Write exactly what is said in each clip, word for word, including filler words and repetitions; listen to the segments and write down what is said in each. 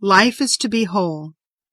Life is to be whole.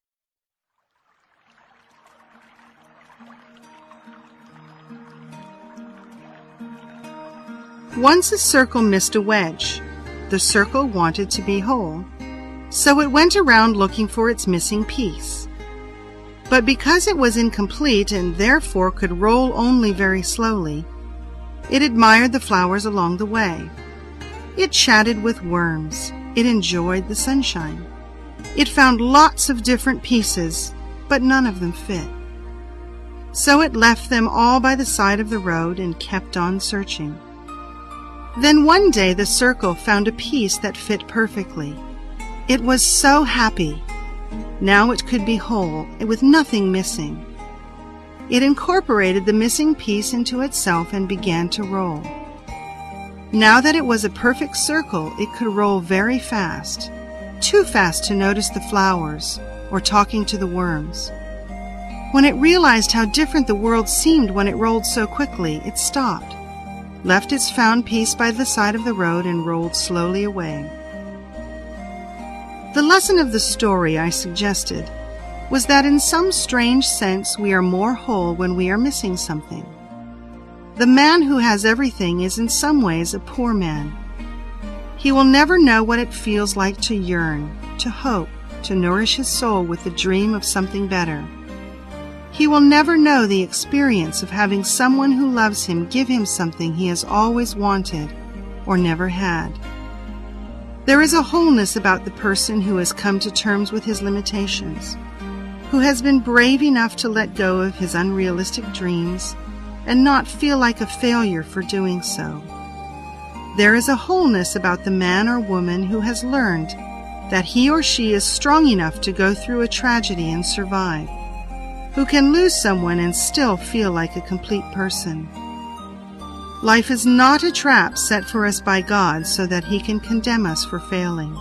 Once a circle missed a wedge. The circle wanted to be whole, so it went around looking for its missing piece. But because it was incomplete and therefore could roll only very slowly, it admired the flowers along the way. It chatted with worms. It enjoyed the sunshine. It found lots of different pieces, but none of them fit. So it left them all by the side of the road and kept on searching. Then one day the circle found a piece that fit perfectly. It was so happy. Now it could be whole, with nothing missing. It incorporated the missing piece into itself and began to roll. Now that it was a perfect circle, it could roll very fast, too fast to notice the flowers or talking to the worms. When it realized how different the world seemed when it rolled so quickly, it stopped, left its found piece by the side of the road, and rolled slowly away. The lesson of the story I suggested was that in some strange sense we are more whole when we are missing something. The man who has everything is in some ways a poor man. He will never know what it feels like to yearn, to hope, to nourish his soul with the dream of something better. He will never know the experience of having someone who loves him give him something he has always wanted or never had. There is a wholeness about the person who has come to terms with his limitations, who has been brave enough to let go of his unrealistic dreams and not feel like a failure for doing so. There is a wholeness about the man or woman who has learned that he or she is strong enough to go through a tragedy and survive, who can lose someone and still feel like a complete person. Life is not a trap set for us by God so that He can condemn us for failing.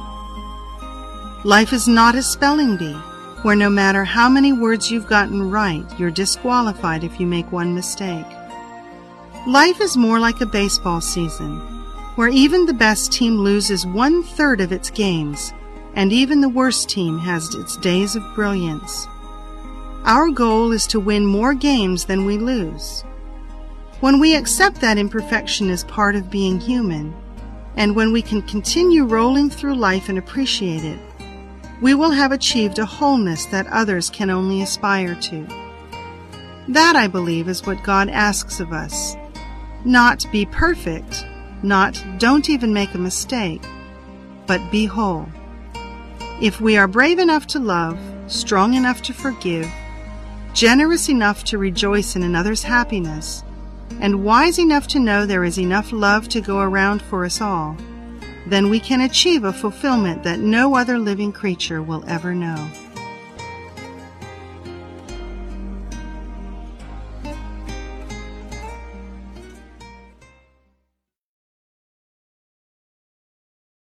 Life is not a spelling bee, where no matter how many words you've gotten right, you're disqualified if you make one mistake. Life is more like a baseball season, where even the best team loses one-third of its games, and even the worst team has its days of brilliance. Our goal is to win more games than we lose. When we accept that imperfection is part of being human, and when we can continue rolling through life and appreciate it, we will have achieved a wholeness that others can only aspire to. That, I believe, is what God asks of us. Not be perfect, not don't even make a mistake, but be whole. If we are brave enough to love, strong enough to forgive, generous enough to rejoice in another's happiness, and wise enough to know there is enough love to go around for us all, then we can achieve a fulfillment that no other living creature will ever know.